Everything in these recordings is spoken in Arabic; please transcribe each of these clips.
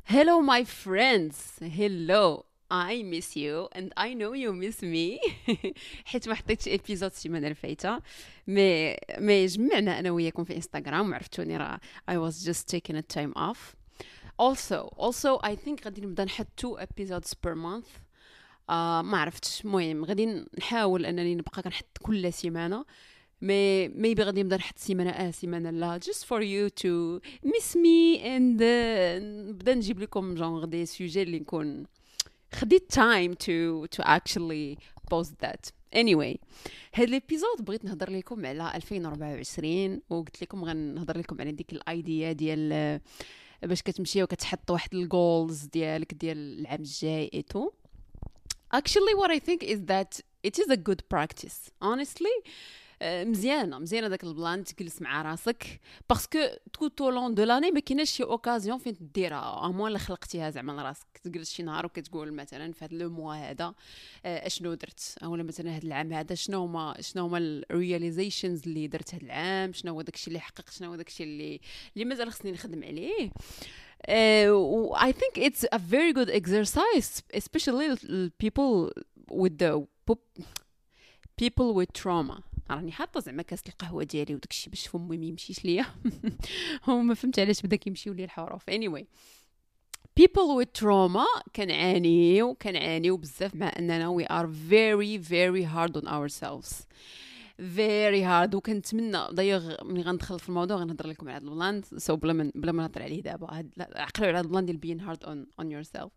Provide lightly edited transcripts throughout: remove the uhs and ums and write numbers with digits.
Hello, my friends. Hello. I miss you and I know you miss me. حيت ما حطيتش ابيزود السيمانه الفايته مي جمعنا انا وياكم في انستغرام وعرفتوني راه I was just taking a time off. Also I think غادي نبدا نحط 2 episodes per month. ما عرفتش، المهم غادي نحاول انني نبقى كنحط كل سيمانه. maybe غادي نبدا نحط سيمانه لا just for you to miss me and نبدا نجيب لكم جونغ دي سوجي اللي نكون خديت time to actually post that. Anyway, هاد الابيزود بغيت نهضر لكم على 2024 وقلت لكم غنهضر لكم على ديك الايديا ديال باش كتمشي وكتحط واحد الجولز ديالك ديال العام الجاي ايتو. Actually what I think is that it is a good practice honestly. مزيانه داك البلان تجلس مع راسك باسكو تو طولون دو لاني ما كايناش شي اوكازيون فين ديرها امون اللي خلقتيها زعما لراسك تجلس شي نهار وكتقول مثلا في هذا لو موا هذا اشنو درت، اولا مثلا هذا العام هذا شنو هما الرياليزيشنز اللي درت هذا العام، شنو هو داكشي اللي حققت، شنو هو داكشي اللي مازال خصني نخدم عليه. I think it's a very good exercise especially people with the people with trauma. راني حاطه زعما كاس القهوه ديالي وداكشي باش فمي ما يمشيش ليا. هو ما فهمت علاش بدا كيمشيو لي الحروف. anyway people with trauma كنعانيو بزاف مع اننا we are very very hard on ourselves very hard. وكنتمنى ضيغ ملي غندخل في الموضوع غنهضر لكم على هذا البلان سو بلا ما نهضر عليه دابا. عقلوا على هذا البلان ديال being hard on yourself.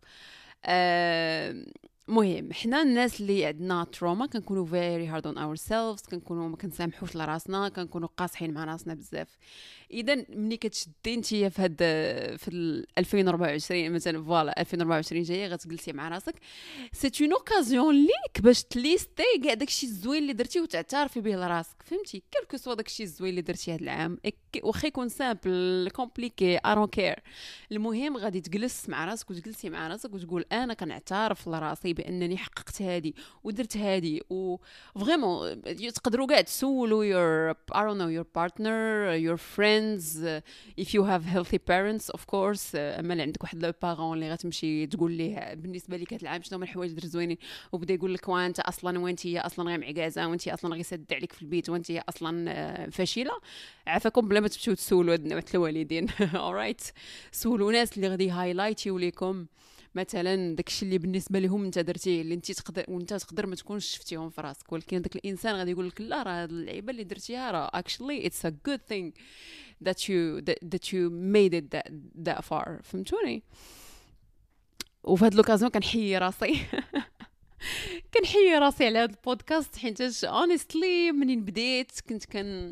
مهم حنا الناس اللي عندنا تروما كنكونوا very hard on ourselves، كنكونوا ما كنسامحوش لراسنا، كنكونوا قاصحين مع راسنا بزاف. اذا ملي كتشدي نتيا في 2024 مثلا فوالا 2024 جايه غتجلسي مع راسك سي اون اوكازيون ليك باش تليستي كاع داكشي الزوين اللي درتي وتعترفي به لراسك، فهمتي؟ كلكو سوا داكشي الزوين اللي درتي هذا العام واخا يكون سامبل كومبليكي اي دونت كير. المهم غادي تجلس مع راسك وتجلسي مع راسك وتقول انا كنعترف لراسي بانني حققت هادي ودرت هادي. و فريمون تقدروا كاع تسولوا your I don't know your partner your friends if you have healthy parents of course. اما اللي عندك واحد لو بارون اللي غتمشي تقول ليه بالنسبه لك هاد العام شنو هما الحوايج درت زوينين وبدا يقول لك وانت اصلا وانت اصلا غير معكازه وانت اصلا غير سد عليك في البيت وانت اصلا فاشله، عافاكم بلا ما تمشيو تسولوا هاد الوالدين. alright سولوا ناس اللي غادي هايلايتيو ليكم مثلا داكشي اللي بالنسبه لهم انت درتيه اللي انت تقدر وانت تقدر ما تكونش شفتيهم في راسك، ولكن داك الانسان غادي يقول لك لا راه هاد اللعيبه اللي درتيها راه actually it's a good thing that you made it that far. فهمتوني؟ وفي هاد لوكازيون كنحيي راسي كنحيي راسي على هاد البودكاست حيت honestly منين بديت كنت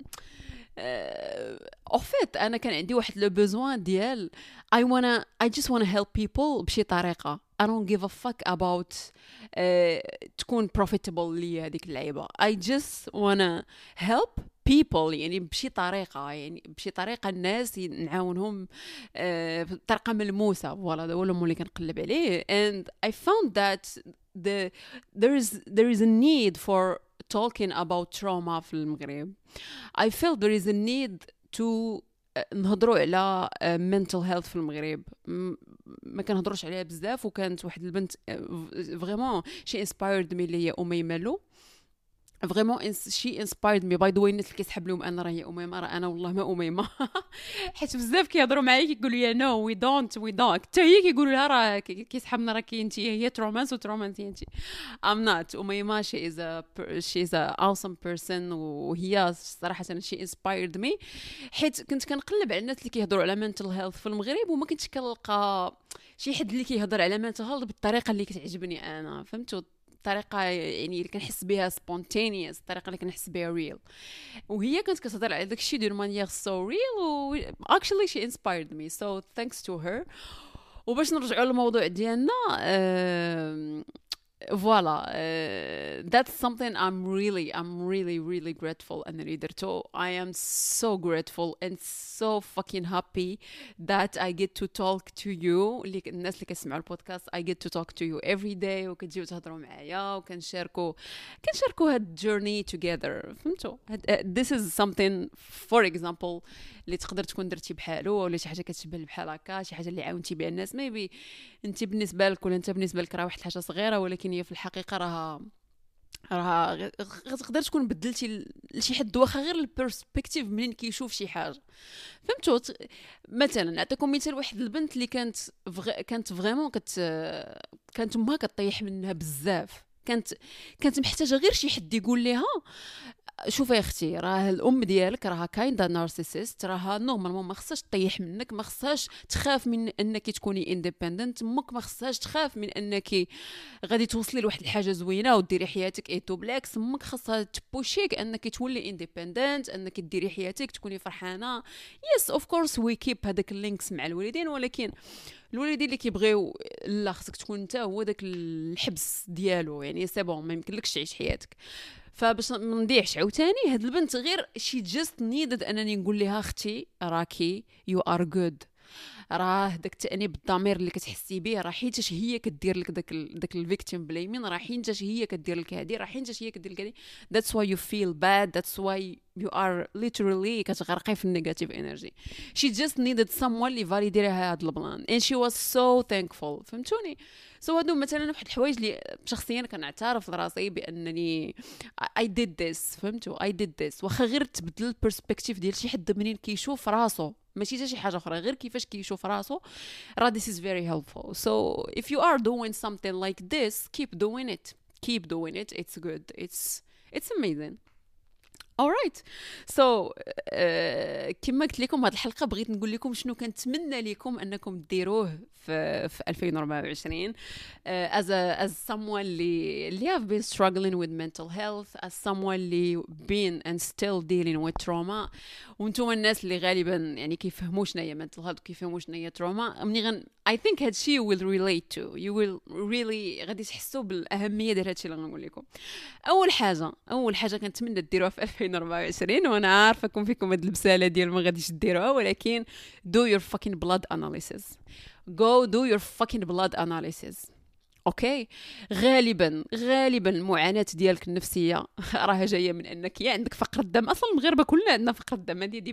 اوفيت انا كان عندي واحد لو بوزوان ديال I just wanna help people بشي طريقه. I don't give a fuck about تكون profitable لي هذيك اللعيبه. I just wanna help people يعني بشي طريقه الناس نعاونهم بطريقه ملموسه. فوالا هذا هو اللي كنقلب عليه and I found that there is a need for talking about trauma في المغرب. I feel there is a need to نهضروا على mental health في المغرب. ما كنهضروش عليها بزاف. وكانت واحد البنت فريمون شي inspired me اللي هي أميمة لو. فريمون شي انسبايرد مي باي ذا واي. الناس اللي كيسحب لهم انا راه هي اميمه راه انا والله ما اميمه. حيت بزاف كيهضروا معايا كيقولوا لي نو وي دونت حتى هي كيقولوا لها راه كيسحبنا راه انت هي ترومانس انت ام نوت اميمه. شي از ا awesome person وهي صراحه شي انسبايرد مي حيت كنت كنقلب على الناس اللي كيهضروا على mental health في المغرب وما كنتش كنلقى شي حد اللي كيهضر على mental health بالطريقه اللي كتعجبني انا. فهمتوا؟ الطريقه يعني اللي كنحس بها spontaneous، الطريقه اللي كنحس بها real. وهي كانت كتهضر على داكشي دو مانيير so real و actually she inspired me so thanks to her. وباش نرجعوا للموضوع ديالنا فوالا. That's something I'm really grateful أنني درتو. I am so grateful and so fucking happy that I get to talk to you. الناس اللي كيسمعوا البودكاست I get to talk to you every day وكتجيو تهضروا معايا وكنشاركوا هاد journey together. فهمتوا؟ this is something for example اللي تقدر تكون درتي بحالو ولا شي حاجه كتشبه بحال هكا، شي حاجه اللي عاونتي بها الناس. maybe انت بالنسبه لك ولا انت بالنسبه لك راه واحد الحاجه صغيره، ولكن هي في الحقيقه راها تقدر تكون بدلتي لشي حد واخا غير البيرسبكتيف منين كيشوف شي حاجه. فهمتوا؟ مثلا نعطيكم مثال، واحد البنت اللي كانت فريمون كانت امها كطيح منها بزاف، كانت محتاجه غير شي حد يقول لها شوفي يا اختي، راه الام ديالك راها كايندا نارسيسيست، راها نورمالمون ما خصهاش تطيح منك، ما خصهاش تخاف من انك تكوني انديبندنت، امك ما خصهاش تخاف من انك غادي توصلي لواحد الحاجه زوينه وديري حياتك ايتو. بالعكس امك خصها تبوشيك انك تولي انديبندنت، انك ديري حياتك تكوني فرحانه. يس اوف كورس وي كيب هذاك اللينكس مع الوالدين، ولكن الوالدين اللي كيبغيو لا خصك تكون انت هو داك الحبس ديالو، يعني سي بون ما يمكنلكش تعيش حياتك. فباش ما نضيعش عاوتاني، هاد البنت غير شي جاست نيدد انني نقول لها اختي راكي يو ار جود، راه داك التانيب الضمير اللي كتحسي به راه حيتاش هي كدير لك داك الفيكتيم بلايمين، راه حيتاش هي كدير لك هادي، راه حيتاش هي كدير لك هادي. that's why you feel bad, that's why you are literally كتغرقي في النيجاتيف انرجي. she just needed someone اللي فاليدي لها هاد البلان and she was so thankful. فهمتوني؟ سو هادو مثلا واحد الحوايج اللي شخصيا كنعترف لراسي بانني I did this. فهمتوا؟ I did this. واخا غير تبدل البرسبكتيف ديال شي حد منين كيشوف راسو، ماشي حتى شي حاجه اخرى، غير كيفاش كيشوف راسو، راه this is very helpful. So if you are doing something like this, keep doing it, it's good, it's amazing. alright. so كما قلت لكم هذه الحلقه بغيت نقول لكم شنو كنتمنى لكم انكم ديروه في 2024 as someone اللي have been struggling with mental health, as someone اللي been and still dealing with trauma. وانتم الناس اللي غالبا يعني كيفهموا شنو هي mental health وكيفهموا شنو هي trauma، مني I think هادشي you will relate to, you will really غادي تحسوا بالاهميه ديال هادشي اللي غنقول لكم. اول حاجه كنتمنى ديروها في 2024، وانا عارفه فيكم هاد البساله ديال ما غاديش ديروها، ولكن do your fucking blood analysis. go do your fucking blood analysis. اوكي؟ غالبا المعاناه ديالك النفسيه راها جايه من انك يا عندك فقر الدم. اصلا المغاربه كلنا عندنا فقر الدم، هذه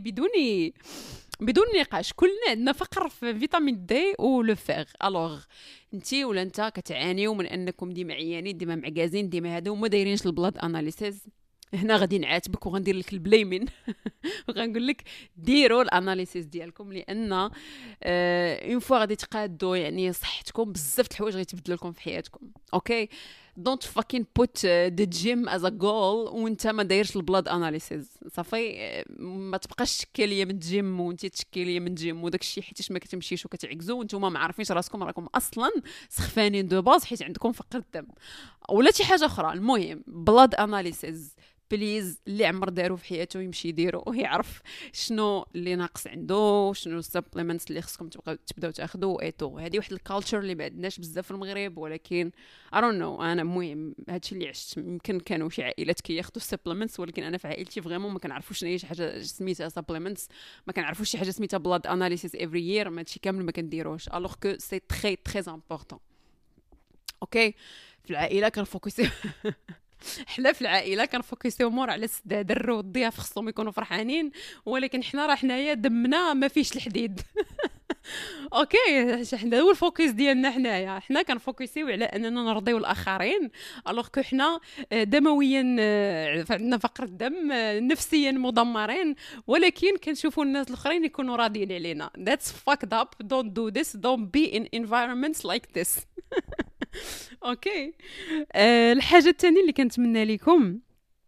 بدون نقاش، كلنا عندنا فقر في فيتامين دي ولو فيغ. الوغ انتي ولا انت كتعانيو من انكم ديما عيانين، ديما معكازين، ديما هادو وما دايرينش البلاد اناليسيز، هنا غادي نعاتبك وغندير لك البلايمين وغنقول لك ديروا الاناليسيس ديالكم، لان اون فوا غادي تقادوا يعني صحتكم بزاف د الحوايج غيتبدلوا لكم في حياتكم. اوكي؟ دونت فاكين بوت ذا جيم از ا جول وانت ما دايرش البلاد اناليسيس. صافي ما تبقاش تشكي ليا من الجيم وانت تشكي ليا من الجيم وداك الشيء حيتاش ما كتمشيش وكتعكزوا وانتم ما عارفينش راسكم، راكم اصلا سخفانين دو باز حيت عندكم فقر الدم ولا شي حاجه اخرى. المهم بلاد اناليسيس بليز، اللي عمر دارو في حياته يمشي يديرو ويعرف شنو اللي ناقص عنده، شنو السبليمنتس اللي خصكم تبداو تاخذوا ايتو. هذه واحد الكالتشر اللي ما عندناش بزاف في المغرب، ولكن I don't know. انا المهم هادشي اللي عشت، يمكن كانوا شي عائلات كياخذوا السبليمنتس، ولكن انا في عائلتي فريمون ما كنعرفوش شنو هي شي حاجه سميتها سبليمنتس، ما كنعرفوش شي حاجه سميتها بلاد اناليسيس افري يير، ما هادشي كامل ما كنديروش الوغ كو سي تري امبورطون. اوكي؟ في العائله كنفوكسي حنا في العائله كنفوكسيو مور على السداد، الرو الضياف خصهم يكونوا فرحانين، ولكن حنا راه حنايا دمنا ما فيش الحديد. اوكي؟ حنا هو الفوكس ديالنا، حنا كنفوكسيو على اننا نرضيو الاخرين، الوغ كو حنا دمويا عندنا فقر الدم، نفسيا مدمرين، ولكن كنشوفوا الناس الاخرين يكونوا راضيين علينا. that's fucked up. don't do this. don't be in environments like this. اوكي؟ الحاجه الثانيه اللي كنتمنى لكم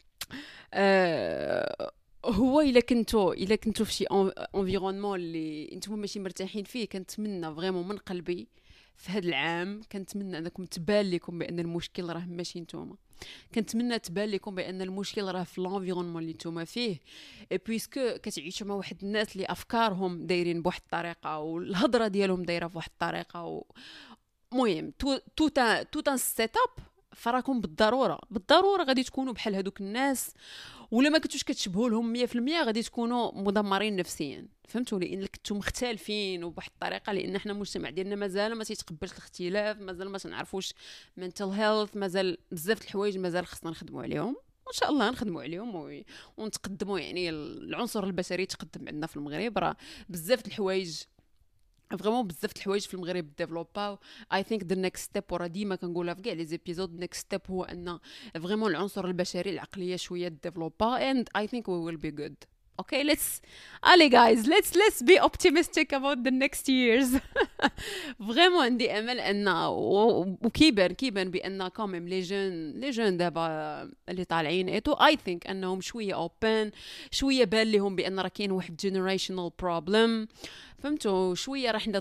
هو الا كنتو في شي انفيرونمون اللي نتوما ماشي مرتاحين فيه، كنتمنى فريمون من قلبي في هذا العام كنتمنى انكم تبان لكم بان المشكل راه ماشي نتوما، كنتمنى تبان لكم بان المشكل راه في الانفيرونمون اللي نتوما فيه، بويسكو كتعيشوا مع واحد الناس اللي افكارهم دايرين بواحد الطريقه والهضره ديالهم دايره بواحد الطريقه المهم توت ان سيت اب فراكم بالضروره غادي تكونوا بحال هذوك الناس، ولا ما كنتوش كتشبهوا لهم 100% غادي تكونوا مدمرين نفسيا. فهمتوا؟ لان كنتو مختلفين وبواحد الطريقه، لان حنا المجتمع ديالنا مازال ما تيتقبلش الاختلاف، مازال ما تنعرفوش mental health، مازال بزاف د الحوايج مازال خصنا نخدموا عليهم، وان شاء الله نخدموا عليهم ونتقدموا. يعني العنصر البشري تقدم عندنا في المغرب، راه بزاف د الحوايج فريمون بزاف د الحوايج في المغرب ديفلوباو. اي ثينك ذا نيكست ستيب، ورا ديما كنقولها في كاع لي زيبيزود، نيكست ستيب هو ان فريمون العنصر البشري العقليه شويه ديفلوبا and I think we will be good. Okay, let's be optimistic about the next years. فريمون عندي امل ان وكيبان بان كوميم لي جون دابا اللي طالعين ايتو اي ثينك انهم شويه اوبن، شويه بان لهم بان راه كاين واحد جينيريشنال بروبلم. فهمتوا؟ شويه راه حنا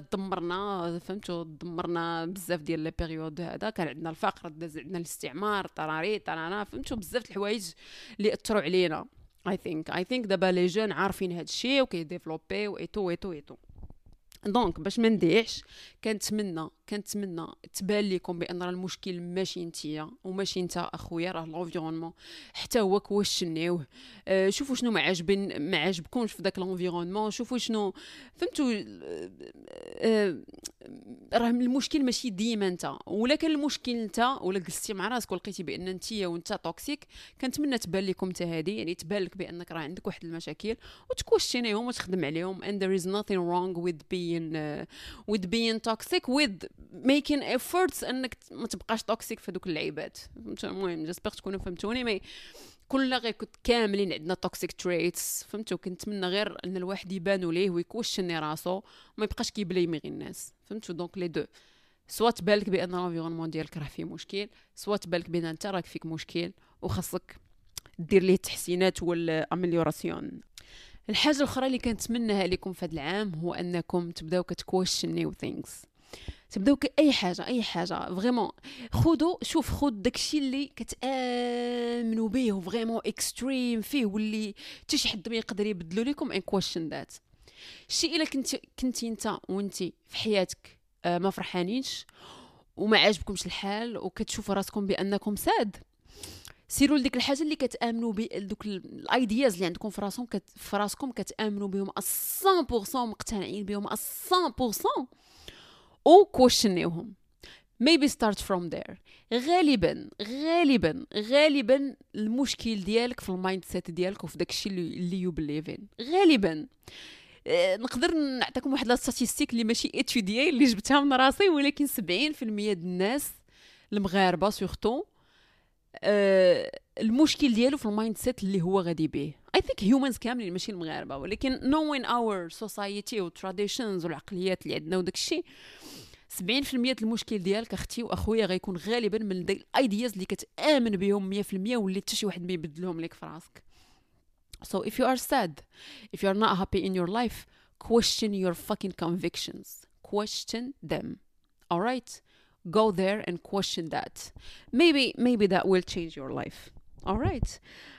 دمرنا بزاف ديال لي بيريود. هذا كان عندنا الفقر، داز عندنا الاستعمار، طراري فهمتوا؟ بزاف د الحوايج اللي اثروا علينا. I think دابا لي جون عارفين هاد الشيء وكيديفلوبيو ايتو. دونك باش ما نديعش، كنتمنى تبان لكم بان راه المشكل ماشي نتيا وماشي نتا اخويا، راه لونفيرونمون حتى هو كوشنيوه. شوفوا شنو ما عجبكمش في داك لونفيرونمون، شوفوا شنو فهمتوا. راه المشكل ماشي ديما انت، ولا كان المشكل انت ولا جلستي مع راسك ولقيتي بان انتيا وانت توكسيك، كنتمنى تبان لكم حتى هذه، يعني تبان لك بانك راه عندك واحد المشاكل وتكوشنيهم وتخدم عليهم. and there is nothing wrong with being toxic, with making efforts انك ما تبقاش توكسيك في دوك اللعيبات. المهم جاسبر تكونوا فهمتوني. مي كلنا غير كنت كاملين عندنا توكسيك تريتس، فهمتوا؟ كنتمنى غير ان الواحد يبانوا ليه ويكوشني راسو وما يبقاش كيبليمي غير الناس. فهمتوا؟ دونك لي دو، سوا تبالك بان الانفيرونمون ديالك راه فيه مشكل، سوا تبالك بان انت راك فيك مشكل وخاصك دير ليه التحسينات والامليوراسيون. الحاجه الاخرى اللي كنتمناها لكم في هذا العام هو انكم تبداو كتكويشنيو ثينكس، تبداو اي حاجه فريمون. خذ داكشي اللي كتامنوا به وفريمون اكستريم فيه، واللي حتى شي حد ما يقدر يبدلو لكم ان كويشن ذات الشيء. الا كنتي انت وانتي في حياتك ما فرحانينش وما عاجبكمش الحال وكتشوفوا راسكم بانكم ساد، سيروا لديك الحاجه اللي كتامنوا دوك الايدياز اللي عندكم في راسكم كتامنوا بهم 100%، مقتنعين بهم 100%، او كويشنيوهم. maybe start from there. غالبا المشكل ديالك في المايند سيت ديالك وفي داكشي اللي يو بليف ان. غالبا نقدر نعطيكم واحد لا ستاتيستيك اللي ماشي اتوديي، اللي جبتها من راسي، ولكن 70% ديال الناس المغاربه سورتو المشكل ديالو في المايند سيت اللي هو غادي به. I think humans كاملين ماشي المغاربه، ولكن knowing our society و traditions والعقليات اللي عندنا وداك الشيء، 70% المشكل ديالك اختي واخويا غيكون غالبا من داك الايدياز اللي كتامن بهم 100% واللي حتى شي واحد ما يبدلهم لك في راسك. So if you are sad, if you are not happy in your life, question your fucking convictions. Question them. All right? Go there and question that. Maybe that will change your life. All right?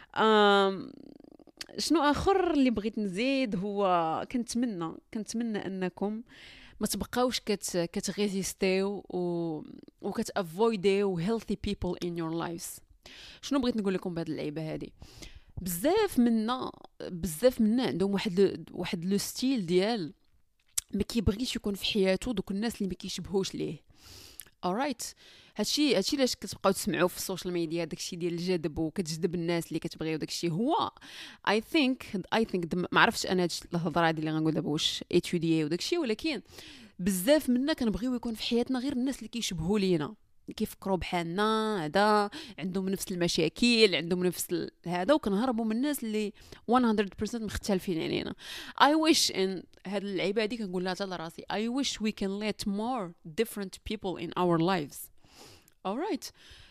شنو آخر اللي بغيت نزيد هو كنتمنى أنكم ما تبقاوش كتغيزيستيو وكتافويديو healthy people in your lives. شنو بغيت نقول لكم بهذه اللعيبه هذه؟ بزاف منا عندهم واحد لو ستيل ديال ما كيبغيش يكون في حياته دوك الناس اللي ما كيشبهوش ليه. alright؟ هادشي علاش كتبقاو تسمعوا في السوشيال ميديا داكشي ديال الجذب وكتجذب الناس اللي كتبغيو داكشي. هو I think ما عرفتش انا هاد الهضره هادي اللي غنقول دابا واش اتوديي وداكشي، ولكن بزاف منا كنبغيو يكون في حياتنا غير الناس اللي كيشبهوا لينا، كيفكروا بحالنا، هذا عندهم نفس المشاكل، عندهم نفس هذا، وكنهربوا من الناس اللي 100% مختلفين علينا. I wish in هاد اللعيبه هادي كنقول لها حتى لراسي I wish we can let more different people in our lives. alright?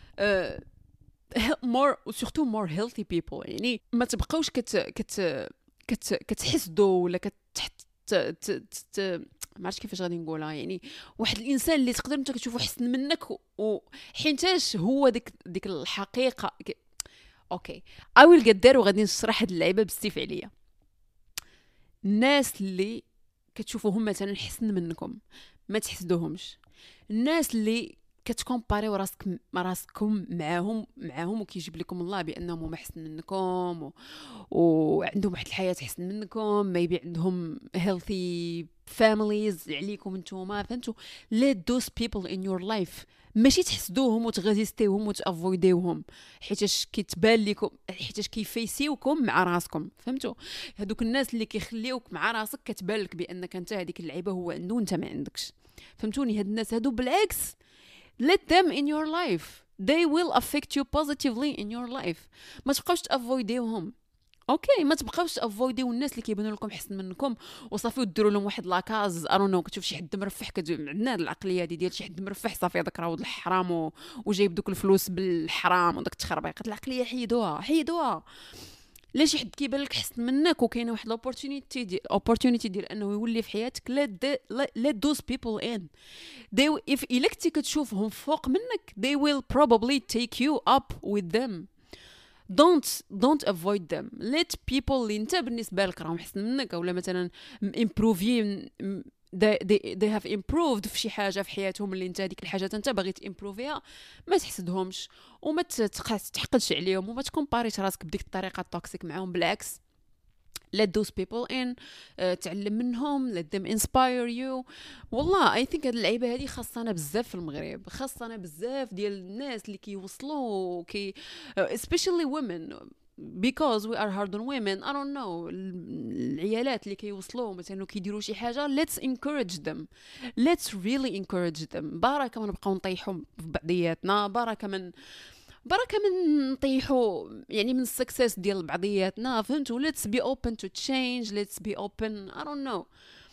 more surtout more healthy people. يعني ما تبقاوش كتحسدوا ولا ما عرفتش كيفاش غادي نقولها. يعني واحد الانسان اللي تقدر انت كتشوفه حسن منك وحينتاش هو ديك الحقيقه. اوكي I will get there وغادي نشرح هاد اللعيبه باستفعاليه. الناس اللي كتشوفوهم مثلا حسن منكم ما تحسدوهمش، الناس اللي كتكومباريو راسكم معاهم وكيجيب لكم الله بانهم هما احسن منكم وعندهم واحد الحياه احسن منكم، ما يبي عندهم healthy families عليكم نتوما، فهمتوا؟ let those people in your life ماشي تحسدوهم وتغازيستيوهم وتافويديوهم حيتاش كيتبان لكم، حيتاش كيفيسيوكم مع راسكم، فهمتوا؟ هذوك الناس اللي كيخليوك مع راسك كتبان لك بانك انت هذيك اللعيبه هو عنده وانت ما عندكش، فهمتوني؟ هاد الناس هادو بالعكس let them in your life, they will affect you positively in your life. ما تبقاوش تافويديوهم، اوكي؟ ما تبقاوش تافويديو الناس اللي كيبانوا لكم احسن منكم وصافي وديروا لهم واحد لاكاز ارونو. كتشوف شي حد مرفح عندنا العقليه هذه ديال شي حد مرفح صافي هذاك راه ولد الحرام وجايب دوك الفلوس بالحرام وداك التخربيقات. العقليه حيدوها. لا شي حد كيبان لك احسن منك وكاينه واحد الاوبورتونيتي ديال انه يولي في حياتك، let those people in. if الا كنتي كتشوفهم فوق منك they will probably take you up with them. don't avoid them. let people اللي انت بالنسبه لك راهم احسن منك اولا مثلا improving they have improved في شي حاجه في حياتهم اللي انت هذيك الحاجه انت باغي تامبروفيها، ما تحسدهمش وما تحقدش عليهم وما تكومباريش راسك بديك الطريقه التوكسيك معاهم. بالعكس let those people in. تعلم منهم. let them inspire you. والله I think هاد اللعيبه هذه خاصنا بزاف في المغرب، خاصنا بزاف ديال الناس اللي كيوصلوا especially women because we are hard on women. I don't know العيالات اللي كيوصلوا مثلا كيديروا شي حاجه let's encourage them. let's really encourage them. بركه ما نبقاو نطيحوا في بعضياتنا، بركه من نطيحوا يعني من السكسس ديال بعضياتنا، فهمتوا؟ let's be open to change. let's be open. I don't know.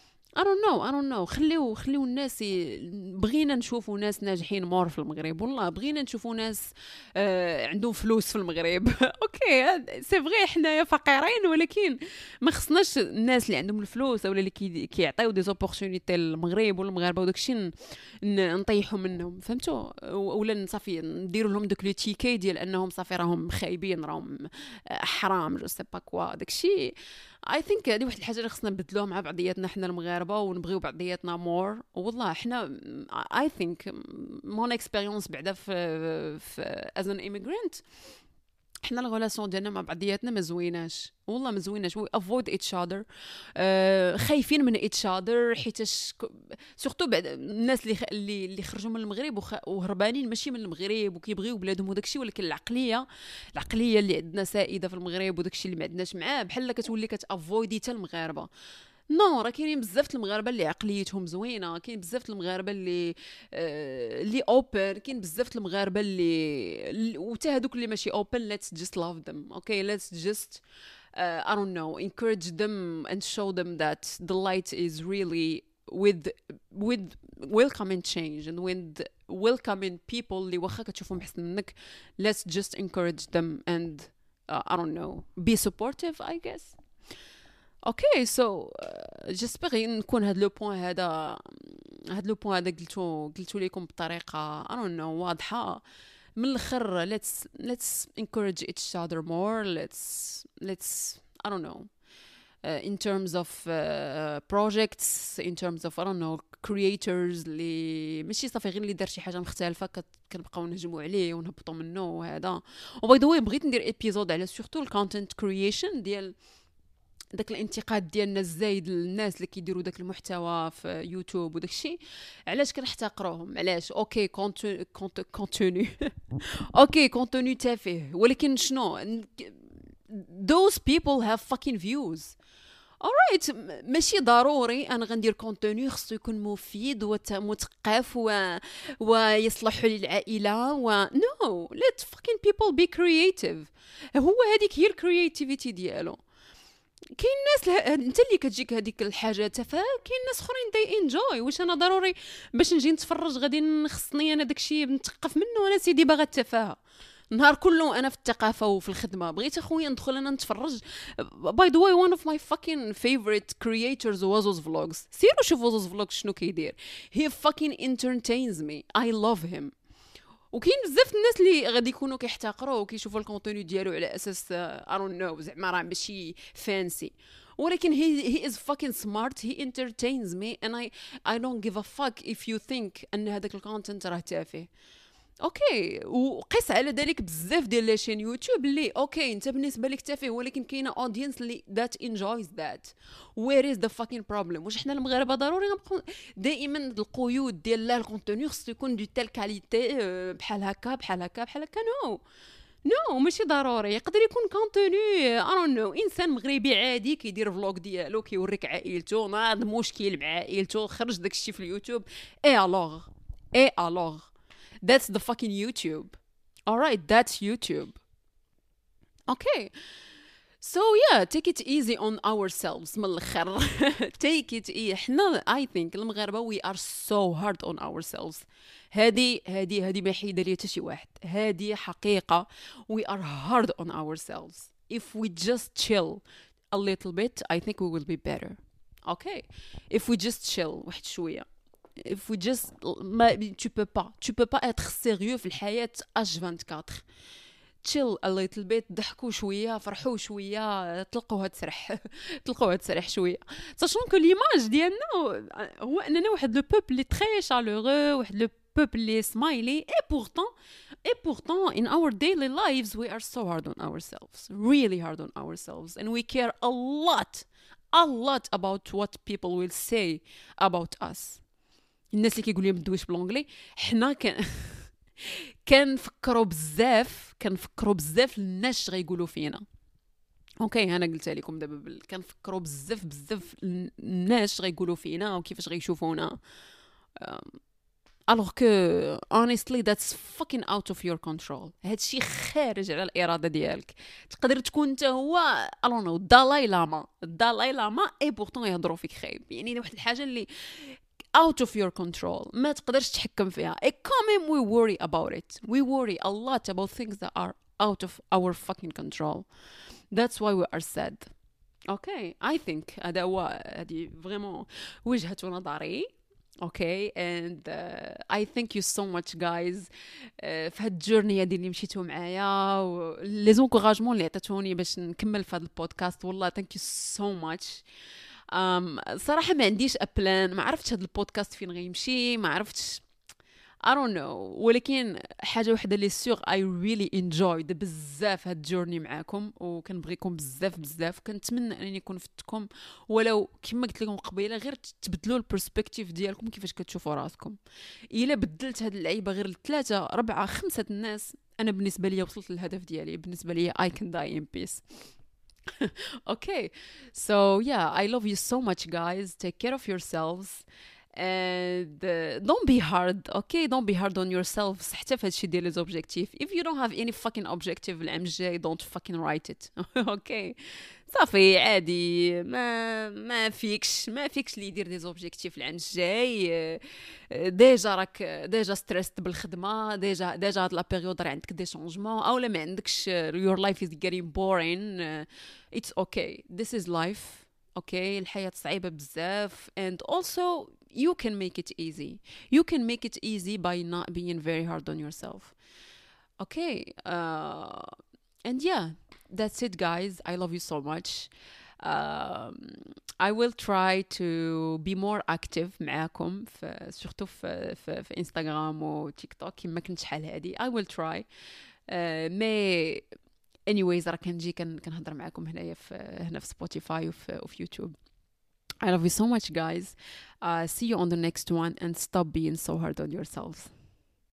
خليو الناس بغينا نشوفوا ناس ناجحين مور في المغرب، والله بغينا نشوفوا ناس عندهم فلوس في المغرب. اوكي سي فغي حنايا فقيرين، ولكن ما خصناش الناس اللي عندهم الفلوس اولا اللي كيعطيو دي زوبورتونيتي للمغرب والمغاربه وداكشي نطيحوا منهم، فهمتوا؟ اولا صافي نديروا لهم دوك لي تيكي ديال انهم صافي راهم خايبين، راهم حرام، جو سي با كوا داكشي. I think هذه واحد الحاجه اللي خصنا نبدلوها مع بعضياتنا حنا المغاربه ونبغيو بعضياتنا مور. والله حنا I think mon experience بعدا في as an immigrant حنا الغولاسيون ديالنا مع بعضياتنا ما زويناش، والله ما زويناش. we avoid each other. خايفين من each other حيتاش سورتو بعد الناس اللي خرجوا من المغرب وهربانين ماشي من المغرب وكيبغيو بلادهم وداكشي، ولكن العقليه اللي عندنا سائده في المغرب وداكشي اللي ما عندناش معاه بحال كتولي كتافويدي حتى المغاربه. نو راه كاينين بزاف المغاربه اللي عقليتهم زوينه، كاين بزاف المغاربه اللي اوبن، كاين بزاف المغاربه اللي وتا هذوك اللي ماشي اوبن. let's just love them. okay let's just I don't know encourage them and show them that the light is really with welcoming change and with welcoming people اللي واخا كتشوفهم احسن منك. let's just encourage them and I don't know be supportive I guess. اوكي سو جيسبر نكون هاد لو بوين هذا قلتو لكم بطريقه I don't know واضحه. من الاخر let's encourage each other more. let's I don't know in terms of projects, in terms of I don't know creators اللي ماشي صافي غير اللي دار شي حاجه مختلفه كنبقاو نهجموا عليه ونهبطوا منه وهذا. وباي ذا واي بغيت ندير ايبيزود على سورتو الكونتنت كرييشن ديال داك الانتقاد ديالنا الزايد للناس اللي كيديروا داك المحتوى في يوتيوب وداك الشيء. علاش كنحتقروهم؟ علاش؟ اوكي كونتوني اوكي كونتوني تافه، ولكن شنو those people have fucking views. alright ماشي ضروري انا غندير كونتوني خصو يكون مفيد ومثقف ويصلح للعائله no let fucking people be creative. هو هذيك هي الكرياتيفيتي ديالو. كاين ناس انت اللي كتجيك هذيك الحاجه تافهه، كاين ناس اخرين داي انجوي. واش انا ضروري باش نجي نتفرج غادي خصني انا داكشي نتثقف منه؟ انا سيدي باغا التفاهه نهار كله انا في الثقافه وفي الخدمه. بغيت اخويا ندخل انا نتفرج. باي ذا واي one of my fucking favorite creators وازوز vlogs. سيروا شوفوا وازوز vlogs شنو كيدير. he fucking entertains me. I love him. وكاين بزاف الناس اللي غادي يكونوا كيحتقروه وكيشوفوا الكونتوني ديالو على اساس I don't know زعما راه ماشي فانسي، ولكن he is fucking smart, he entertains me and I don't give a fuck if you think ان هذاك الكونتنت راه تافه. اوكي، وقيس على ذلك بزاف ديال لاشين يوتيوب اللي اوكي انت بالنسبه لك تافه، ولكن كاينه اودينس اللي ذات انجويز ذات. وير از ذا فاكين بروبليم؟ واش حنا المغاربه ضروري غنبقاو دائما القيود ديال لا الكونتوني خصو يكون دو تيل كاليتي بحال هكا بحال هكا بحال هكا؟ نو ماشي ضروري. يقدر يكون كونتوني نو انسان مغربي عادي كيدير فلوغ ديالو كيوريك عائلته، ناض مشكل مع عائلته، خرج داكشي في اليوتيوب، اي الوغ that's the fucking YouTube. All right, that's YouTube. Okay. So yeah, take it easy on ourselves. من الآخر. Take it easy. احنا I think المغاربة we are so hard on ourselves. هذه ما يحيد لي حتى شي واحد. هذه حقيقة. We are hard on ourselves. If we just chill a little bit, I think we will be better. Okay. If we just chill واحد شوية. If we just tu peux pas être sérieux في الحياة H24. chill a little bit، ضحكوا شويه، فرحوا شويه، طلقوها تسرح شويه. sachant que l'image ديالنا هو اننا واحد لو بوبل اللي تري شالورو، واحد لو بوبل اللي سمايلي، et pourtant in our daily lives we are so hard on ourselves, really hard on ourselves, and we care a lot about what people will say about us. الناس اللي كيقولوا لي ما ندويش بالانجلي، حنا كنفكروا بزاف الناس غيقولوا فينا. اوكي انا قلت لكم دابا كنفكروا بزاف الناس غيقولوا فينا وكيفاش غيشوفونا. alors que honestly that's fucking out of your control. هادشي خارج على الإرادة ديالك. تقدر تكون انت هو I don't know دالاي لاما اي بورتون يهضروا فيك خايب. يعني واحد الحاجة اللي out of your control ما تقدرش تحكم فيها. It come we worry about it. We worry a lot about things that are out of our fucking control. That's why we are sad. Okay, I think هذه vraiment وجهة نظري. Okay, and I thank you so much guys في هاد الجورني هادي اللي مشيتو معايا لي زونكوراجمون اللي عطيتوني باش نكمل في هاد البودكاست. والله thank you so much. صراحة ما عنديش أبلان، ما عرفتش هاد البودكاست فين غيمشي، ما عرفتش I don't know، ولكن حاجة وحدة اللي سيغ I really enjoyed بزاف هاد الجورني معاكم، وكنبغيكم بزاف كنتمنى انني نكون فتكم، ولو كما قلت لكم قبيله غير تبدلوا البرسبكتيف ديالكم كيفاش كتشوفوا راسكم. الا بدلت هاد اللعيبه غير ل3 4 5 الناس، انا بالنسبه لي وصلت للهدف ديالي. بالنسبه لي I can die in peace. Okay, so yeah, I love you so much guys. Take care of yourselves and don't be hard. Okay, don't be hard on yourselves حتى في هادشي ديال لي زوبجيكتيف. If you don't have any fucking objective العام الجاي don't fucking write it. Okay, صافي عادي، ما فيكش اللي يدير دي زوبجيكتيف العام الجاي. ديجا ستريست بالخدمه، ديجا هاد لا بيريود راه عندك دي شونجمون، اولا ما عندكش your life is getting boring. It's okay, this is life. Okay, الحياة صعيبة بزاف and also you can make it easy. You can make it easy by not being very hard on yourself. Okay, and yeah, that's it guys. I love you so much. I will try to be more active معاكم surtout في انستغرام و تيك توك كما كنت شحال هادي. I will try. مي anyways راه كنجي كنهضر معاكم هنا في سبوتيفاي وفي يوتيوب. I love you so much guys. See you on the next one and stop being so hard on yourselves.